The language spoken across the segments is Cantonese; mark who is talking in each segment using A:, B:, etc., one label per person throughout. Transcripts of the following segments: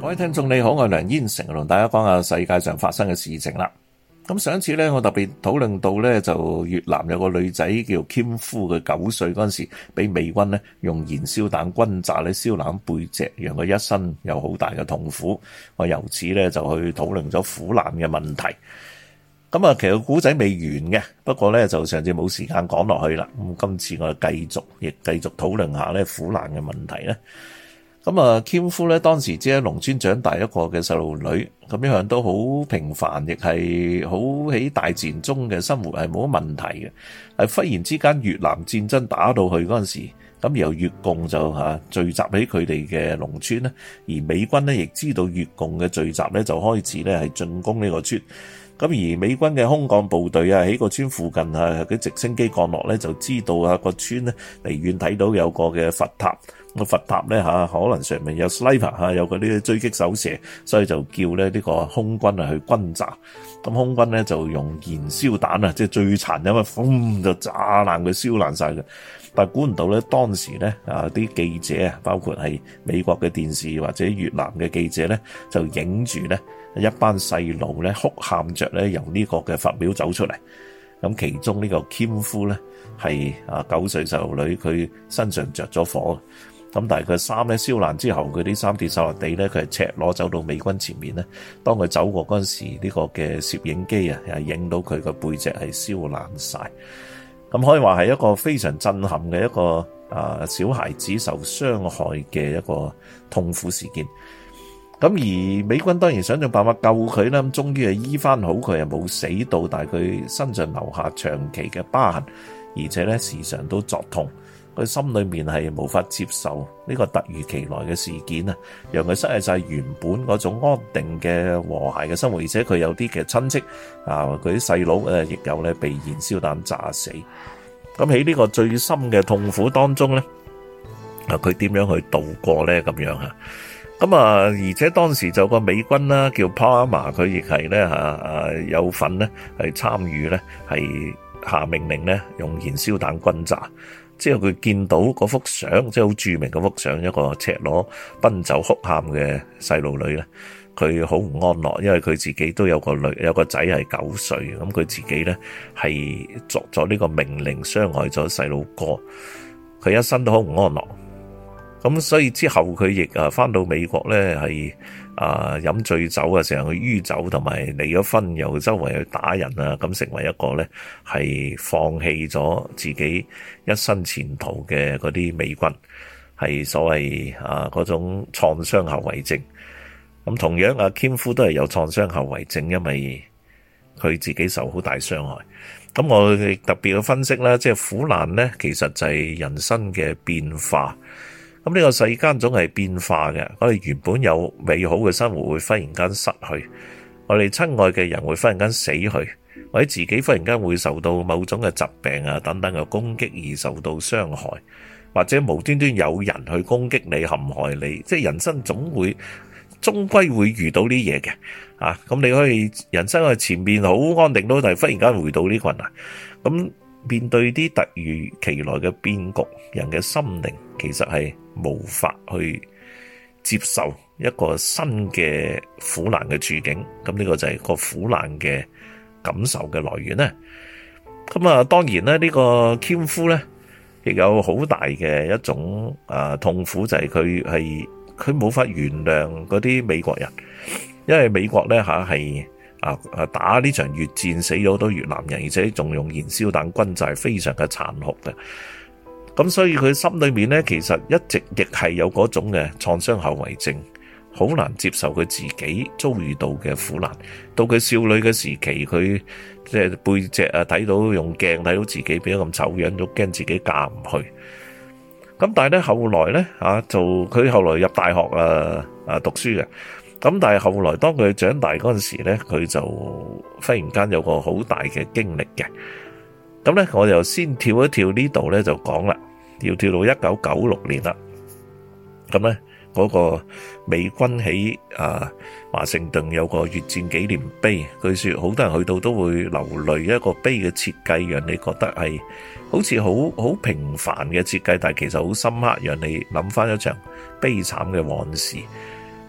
A: 各位聽眾你好，我係梁燕成，同大家講下世界上發生嘅事情啦。咁上一次咧，我特別討論到咧，就越南有個女仔叫 Kim Phu，佢9歲嗰陣時，俾美軍咧用燃燒彈轟炸咧燒爛背脊，讓佢一生有好大嘅痛苦。我由此咧就去討論咗苦難嘅問題。咁啊，其實古仔未完嘅，不過咧就上次冇時間講落去啦。咁今次我哋繼續討論下咧苦難嘅問題咧。咁啊，Kim Phu咧當時只喺農村長大一個嘅細路女，咁一向都好平凡，亦係好喺大自然中嘅生活係冇乜問題嘅。係忽然之間越南戰爭打到去嗰陣時，咁由越共就聚集喺佢哋嘅農村咧，而美軍咧亦知道越共嘅聚集咧，就開始咧係進攻呢個村。咁而美軍嘅空降部隊喺個村附近佢直升機降落咧，就知道個村咧離遠睇到有個嘅佛塔。個佛塔咧可能上面有 sniper 有嗰啲追擊手射，所以就叫咧呢個空軍去轟炸。咁空軍咧就用燃燒彈即係最殘忍嘅，轟就炸爛佢，燒爛晒佢。但係估唔到咧，當時咧啲記者包括係美國嘅電視或者越南嘅記者咧，就影住咧一班細路咧哭喊着咧由呢個嘅佛廟走出嚟。咁其中呢個 Kim Phu咧係9歲細路女，佢身上着咗火。咁但係佢衫咧燒爛之後，佢啲衫跌晒落地咧，佢係赤裸走到美軍前面咧。當佢走過嗰陣時，呢個嘅攝影機又影到佢個背脊係燒爛晒。咁可以話係一個非常震撼嘅一個小孩子受傷害嘅一個痛苦事件。咁而美軍當然想盡辦法救佢啦，咁終於係醫翻好佢，又冇死到，但係佢身上留下長期嘅疤痕，而且咧時常都作痛。佢心裏面係無法接受呢個突如其來嘅事件啊，讓佢失去晒原本嗰種安定嘅和諧嘅生活，而且佢有啲嘅親戚佢啲細佬亦有咧被燃燒彈炸死。咁喺呢個最深嘅痛苦當中咧，佢點樣去度過咧？咁樣咁而且當時就有個美軍啦，叫 Palmer， 佢亦係咧有份咧係參與咧係下命令咧用燃燒彈轟炸。之後佢見到嗰幅相，即係好著名嗰幅相，一個赤裸奔走哭喊嘅細路女咧，佢好唔安樂，因為佢自己都有個仔係9歲，咁佢自己咧係作咗呢個命令，傷害咗細路哥，佢一生都好唔安樂。咁所以之後佢亦返到美國咧，係飲醉酒啊，成日去酗酒，同埋離咗婚，又周圍去打人啊，咁成為一個咧係放棄咗自己一生前途嘅嗰啲美軍，係所謂嗰種創傷後遺症。咁同樣Kim Phu都係有創傷後遺症，因為佢自己受好大傷害。咁我哋特別嘅分析啦，即係苦難咧，其實就係人生嘅變化。咁呢個世間總係變化嘅，我哋原本有美好嘅生活會忽然間失去，我哋親愛嘅人會忽然間死去，或者自己忽然間會受到某種嘅疾病等等嘅攻擊而受到傷害，或者無端端有人去攻擊你、陷害你，即係人生終歸會遇到呢嘢嘅。咁你可以人生喺前面好安定，但係忽然間回到呢困難。咁面對啲突如其來嘅變局，人嘅心靈其實係無法去接受一個新嘅苦難嘅處境。咁呢個就係個苦難嘅感受嘅來源咧。咁當然咧，呢個 Kim Phu咧亦有好大嘅一種痛苦，就係佢冇法原諒嗰啲美國人，因為美國咧係打呢場越戰死咗好多越南人，而且仲用燃燒彈轟炸，非常嘅殘酷嘅。咁所以佢心裏面咧，其實一直亦係有嗰種嘅創傷後遺症，好難接受佢自己遭遇到嘅苦難。到佢少女嘅時期，佢即係背脊睇到用鏡睇到自己變咗咁醜樣，都驚自己嫁唔去。咁但係咧後來咧佢後來入大學讀書嘅。咁但係後來當佢長大嗰陣時咧，佢就忽然間有個好大嘅經歷嘅。咁咧我就先跳一跳呢度咧就講啦，要跳到1996年啦。咁咧嗰個美軍喺華盛頓有個越戰紀念碑，據說好多人去到都會流淚，一個碑嘅設計讓你覺得係好似好平凡嘅設計，但係其實好深刻，讓你諗翻一場悲慘嘅往事。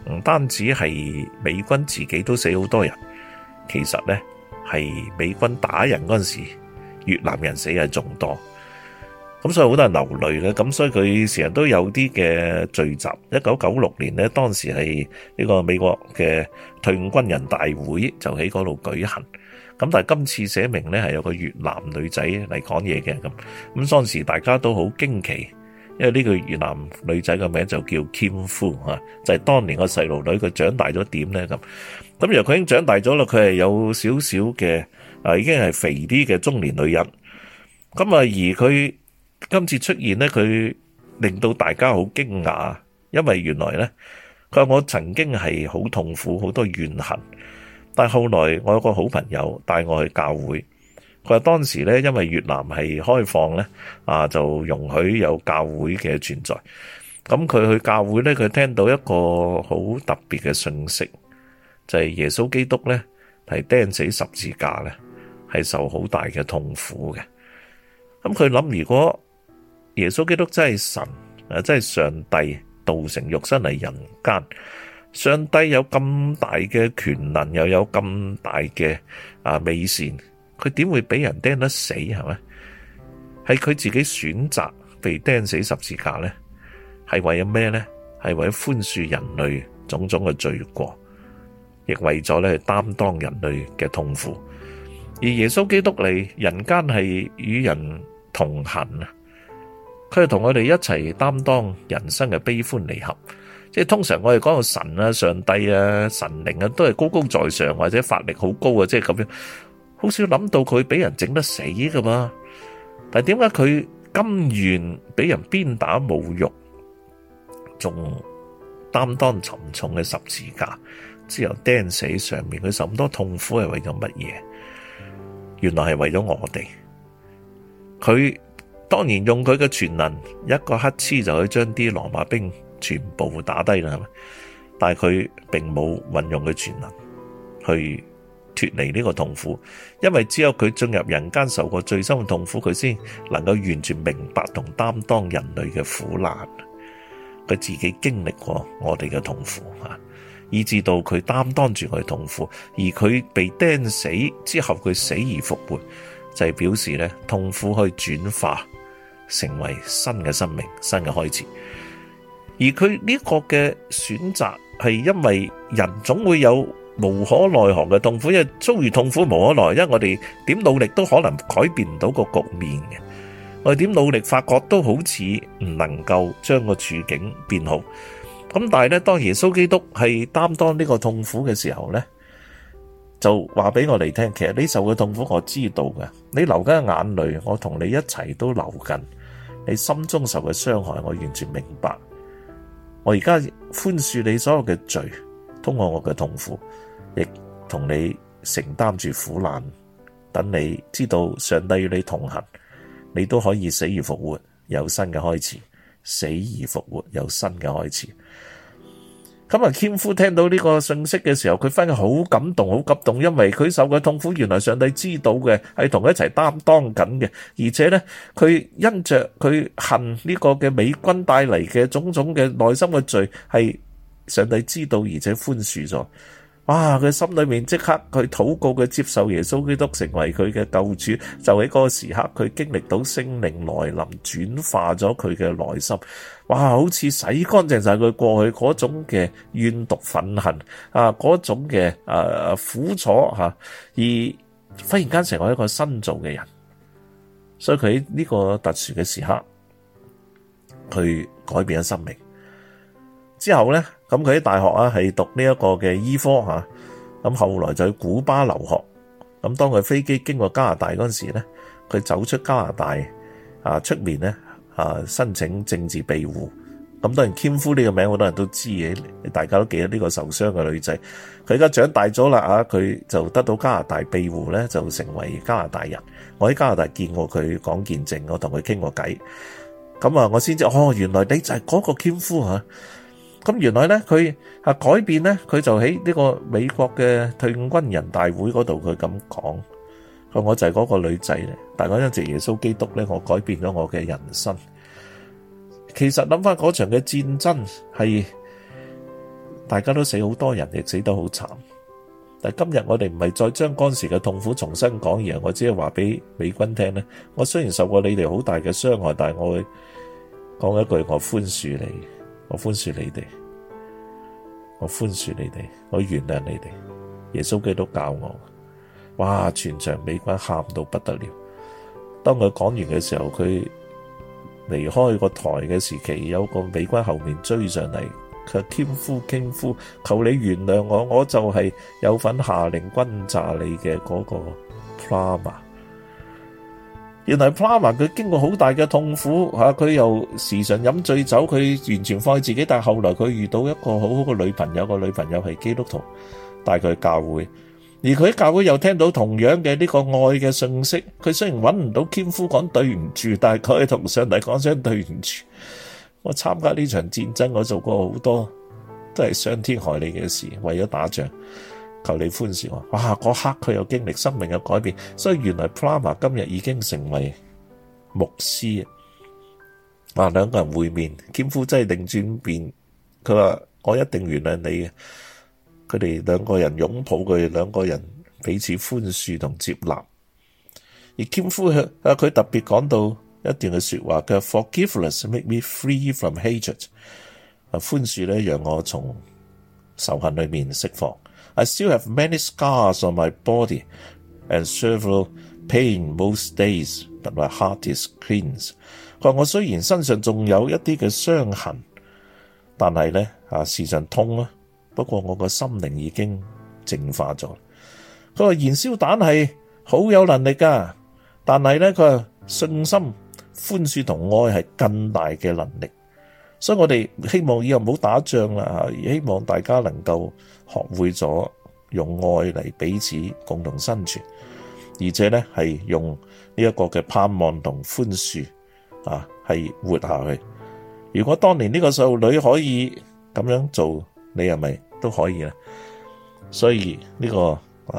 A: 唔單止係美軍自己都死好多人，其實咧係美軍打人嗰陣時，越南人死係仲多。咁所以好多人流淚嘅，咁所以佢成日都有啲嘅聚集。1996年咧，當時係呢個美國嘅退伍軍人大會就喺嗰度舉行。咁但係今次寫明咧係有個越南女仔嚟講嘢嘅，咁當時大家都好驚奇，因為呢個越南女仔嘅名就叫 Kim Phu 就係當年個細路女，佢長大咗點咧咁。咁原來佢已經長大咗啦，佢係有少少嘅已經係肥啲嘅中年女人。咁而佢今次出現咧，佢令到大家好驚訝，因為原來咧，佢話我曾經係好痛苦，好多怨恨，但係後來我有個好朋友帶我去教會，佢話當時咧，因為越南係開放咧，就容許有教會嘅存在。咁佢去教會咧，佢聽到一個好特別嘅訊息，就係耶穌基督咧係釘死十字架咧，係受好大嘅痛苦嘅。咁佢諗，如果耶穌基督真係神，真係上帝道成肉身嚟人間，上帝有咁大嘅權能，又有咁大嘅美善，佢點會俾人釘得死係咪？係佢自己選擇被釘死十字架咧，係為咗咩咧？係為咗寬恕人類種種嘅罪過，亦為咗咧擔當人類嘅痛苦。而耶穌基督嚟人間係與人同行啊！佢係同我哋一齊擔當人生嘅悲歡離合，即係通常我哋講到神啊、上帝啊、神靈啊，都係高高在上或者法力好高啊，即係咁樣，好少諗到佢俾人整得死噶嘛。但係點解佢甘願俾人鞭打侮辱，仲擔當沉重嘅十字架，之後釘死上面，佢受咁多痛苦係為咗乜嘢？原來係為咗我哋。佢當然用佢嘅全能，一個乞嗤就可以將啲羅馬兵全部打低啦，係咪？但係佢並冇運用佢全能去脫離呢個痛苦，因為只有佢進入人間受過最深嘅痛苦，佢先能夠完全明白同擔當人類嘅苦難。佢自己經歷過我哋嘅痛苦啊，以至到佢擔當住我哋痛苦，而佢被釘死之後，佢死而復活，就係表示咧痛苦可以轉化成為新嘅生命、新嘅開始。而佢呢個嘅選擇係因為人總會有無可奈何嘅痛苦，因為遭遇痛苦無可奈何，因為我哋點努力都可能改變唔到個局面嘅，我哋點努力發覺都好似唔能夠將個處境變好。咁但係咧，當耶穌基督係擔當呢個痛苦嘅時候咧，就話俾我哋聽，其實你受嘅痛苦我知道嘅，你流緊眼淚，我同你一齊都流緊，你心中受嘅傷害我完全明白。我而家寬恕你所有嘅罪，通過我嘅痛苦，亦同你承擔住苦難，等你知道上帝與你同行，你都可以死而復活，有新嘅開始。死而復活，有新嘅開始。咁Kim Phu聽到呢個信息嘅時候，佢反而好感動，好感動，因為佢受嘅痛苦，原來上帝知道嘅，係同佢一齊擔當緊嘅，而且咧，佢因着佢恨呢個嘅美軍帶嚟嘅種種嘅內心嘅罪，係上帝知道，而且寬恕咗。哇！佢心裏面即刻佢禱告，佢接受耶穌基督成為佢嘅救主，就喺嗰個時刻，佢經歷到聖靈來臨，轉化咗佢嘅內心。哇！好似洗乾淨晒佢過去嗰種嘅怨毒憤恨嗰種嘅苦楚而忽然間成為一個新造嘅人。所以佢喺呢個特殊嘅時刻，佢改變咗生命。之後咧，咁佢喺大學係讀呢一個嘅醫科咁後來就去古巴留學。咁當佢飛機經過加拿大嗰陣時咧，佢走出加拿大出面咧申請政治庇護。咁當然Kim Phu呢個名好多人都知嘅，大家都記得呢個受傷嘅女仔。佢而家長大咗啦佢就得到加拿大庇護咧，就成為加拿大人。我喺加拿大見過佢講見證，我同佢傾過偈。咁我先知原來你就係嗰個Kim Phu咁原來咧，佢改變咧，佢就喺呢個美國嘅退伍軍人大會嗰度，佢咁講，佢我就係嗰個女仔咧。大家因着耶穌基督咧，我改變咗我嘅人生。其實諗翻嗰場嘅戰爭係大家都死好多人，亦死得好慘。但今日我哋唔係再將嗰時嘅痛苦重新講，而係我只係話俾美軍聽咧。我雖然受過你哋好大嘅傷害，但係我會講一句：我寬恕你，我寬恕你哋，我寬恕你哋，我原諒你哋。耶穌基督教我，哇！全場美軍喊到不得了。當佢講完嘅時候，佢離開個台嘅時期，有個美軍後面追上嚟。佢話Kim Fu，求你原諒我，我就係有份下令轟炸你嘅嗰個 Plummer。原來 Plummer 佢經過好大嘅痛苦吓，佢又時常飲醉酒，佢完全放棄自己。但係後來佢遇到一個好好嘅女朋友，個女朋友係基督徒，帶佢去教會，而佢喺教會又聽到同樣嘅呢個愛嘅信息。佢雖然揾唔到Kim Fu講對唔住，但係佢同上帝講聲對唔住。我參加呢場戰爭，我做過好多都係傷天害理嘅事，為咗打仗，求你寬恕我。哇！嗰刻佢又經歷生命嘅改變，所以原來 Plummer 今日已經成為牧師啊！兩個人會面，Kim Fu真係擰轉變，佢話我一定原諒你嘅。佢哋兩個人擁抱，佢哋兩個人彼此寬恕同接納。而Kim Fu佢特別講到一段嘅說話，佢話 Forgiveness make me free from hatred。寬恕咧，讓我從仇恨裏面釋放。I still have many scars on my body and several pain most days, but my heart is cleansed。佢話我雖然身上仲有一啲嘅傷痕，但係咧時常痛啊，不過我個心靈已經淨化咗。佢話燃燒彈係好有能力噶，但係咧佢話信心、寬恕同愛係更大嘅能力，所以我哋希望以後唔好打仗啦，希望大家能夠學會咗用愛嚟彼此共同生存，而且咧係用呢一個嘅盼望同寬恕係活下去。如果當年呢個細路女可以咁樣做，你係咪都可以咧？所以呢個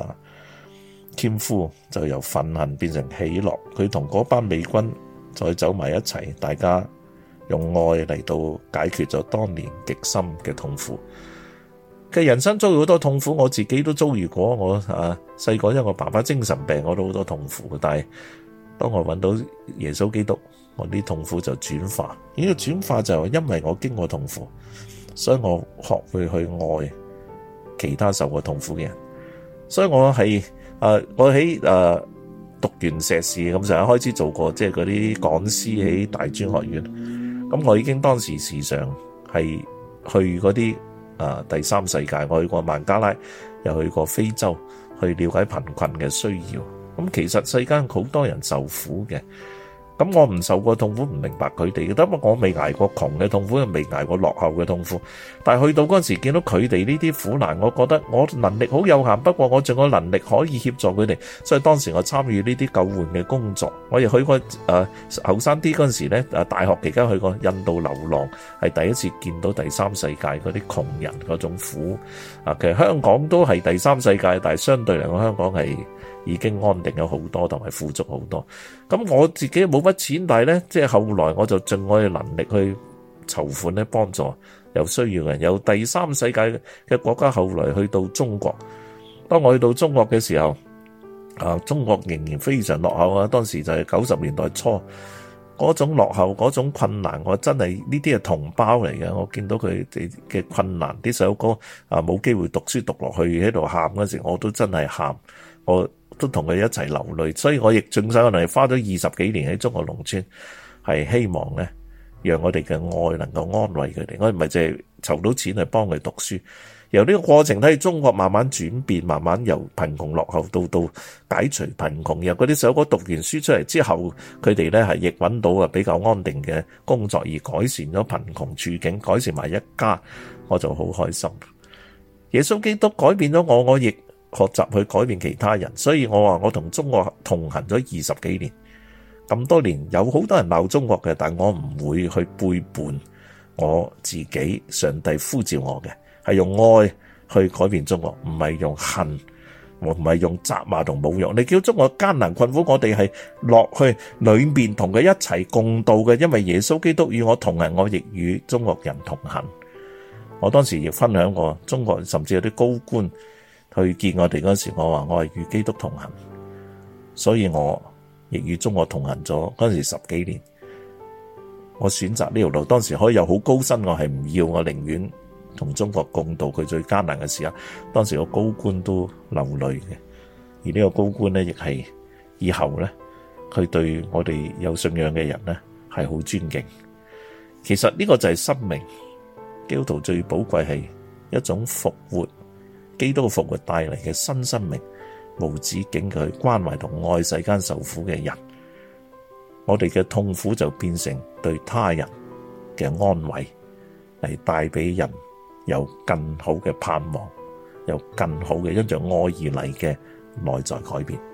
A: Kim Fu就由憤恨變成喜樂，佢同嗰班美軍再走埋一齊，大家用愛嚟到解決咗當年極深嘅痛苦。嘅人生遭遇好多痛苦，我自己都遭遇過。我細個因為我爸爸精神病，我都好多痛苦。但係當我揾到耶穌基督，我啲痛苦就轉化。呢個轉化就係因為我經過痛苦，所以我學會去愛其他受過痛苦嘅人。所以我係我喺讀完碩士咁上下開始做過，即係嗰啲講師喺大專學院。咁我已經當時時常係去嗰啲第三世界，我去過孟加拉，又去過非洲，去了解貧困嘅需要。咁其實世間好多人受苦嘅。咁我唔受過痛苦，唔明白佢哋嘅，因為我未捱過窮嘅痛苦，又未捱過落後嘅痛苦。但係去到嗰陣時，見到佢哋呢啲苦難，我覺得我能力好有限，不過我仲有能力可以協助佢哋，所以當時我參與呢啲救援嘅工作。我亦去過後生啲嗰陣時咧，大學期間去過印度流浪，係第一次見到第三世界嗰啲窮人嗰種苦。其實香港都係第三世界，但係相對嚟講，香港係已經安定咗好多，同埋富足好多。咁我自己冇乜錢，但係咧，即係後來我就盡我嘅能力去籌款咧，幫助有需要嘅人。由第三世界嘅國家後來去到中國，當我去到中國嘅時候，中國仍然非常落後啊！當時就係90年代初，嗰種落後，嗰種困難，我真係呢啲係同胞嚟嘅。我見到佢哋嘅困難，啲細佬哥冇機會讀書讀落去，喺度喊嗰時，我都真係喊，我都同佢一齊流淚。所以我亦盡晒我能力，花咗20幾年喺中國農村，係希望咧，讓我哋嘅愛能夠安慰佢哋。我唔係淨係籌到錢去幫佢讀書。由呢個過程睇中國慢慢轉變，慢慢由貧窮落後到解除貧窮。由嗰啲細佬哥讀完書出嚟之後，佢哋咧係亦揾到比較安定嘅工作，而改善咗貧窮處境，改善埋一家，我就好開心。耶穌基督改變咗我，我亦學習去改變其他人。所以我話我同中國同行咗20幾年，咁多年有好多人鬧中國嘅，但我唔會去背叛我自己。上帝呼召我嘅係用愛去改變中國，唔係用恨，我唔係用責罵同侮辱。你叫中國艱難困苦，我哋係落去裏面同佢一齊共度嘅，因為耶穌基督與我同行，我亦與中國人同行。 我當時亦分享過，中國甚至有啲高官去見我哋嗰時，我話我係與基督同行，所以我亦與中國同行咗嗰時10幾年。我選擇呢條路，當時可以有好高薪，我係唔要，我寧願同中國共度佢最艱難嘅時候。當時個高官都流淚嘅，而呢個高官呢，亦係以後呢，佢對我哋有信仰嘅人呢係好尊敬。其實呢個就係生命。基督徒最寶貴係一種復活，基督復活帶嚟嘅新生命，無止境嘅去關懷同愛世間受苦嘅人。我哋嘅痛苦就變成對他人嘅安慰，嚟帶俾人有更好嘅盼望，有更好嘅因着愛而嚟嘅內在改變。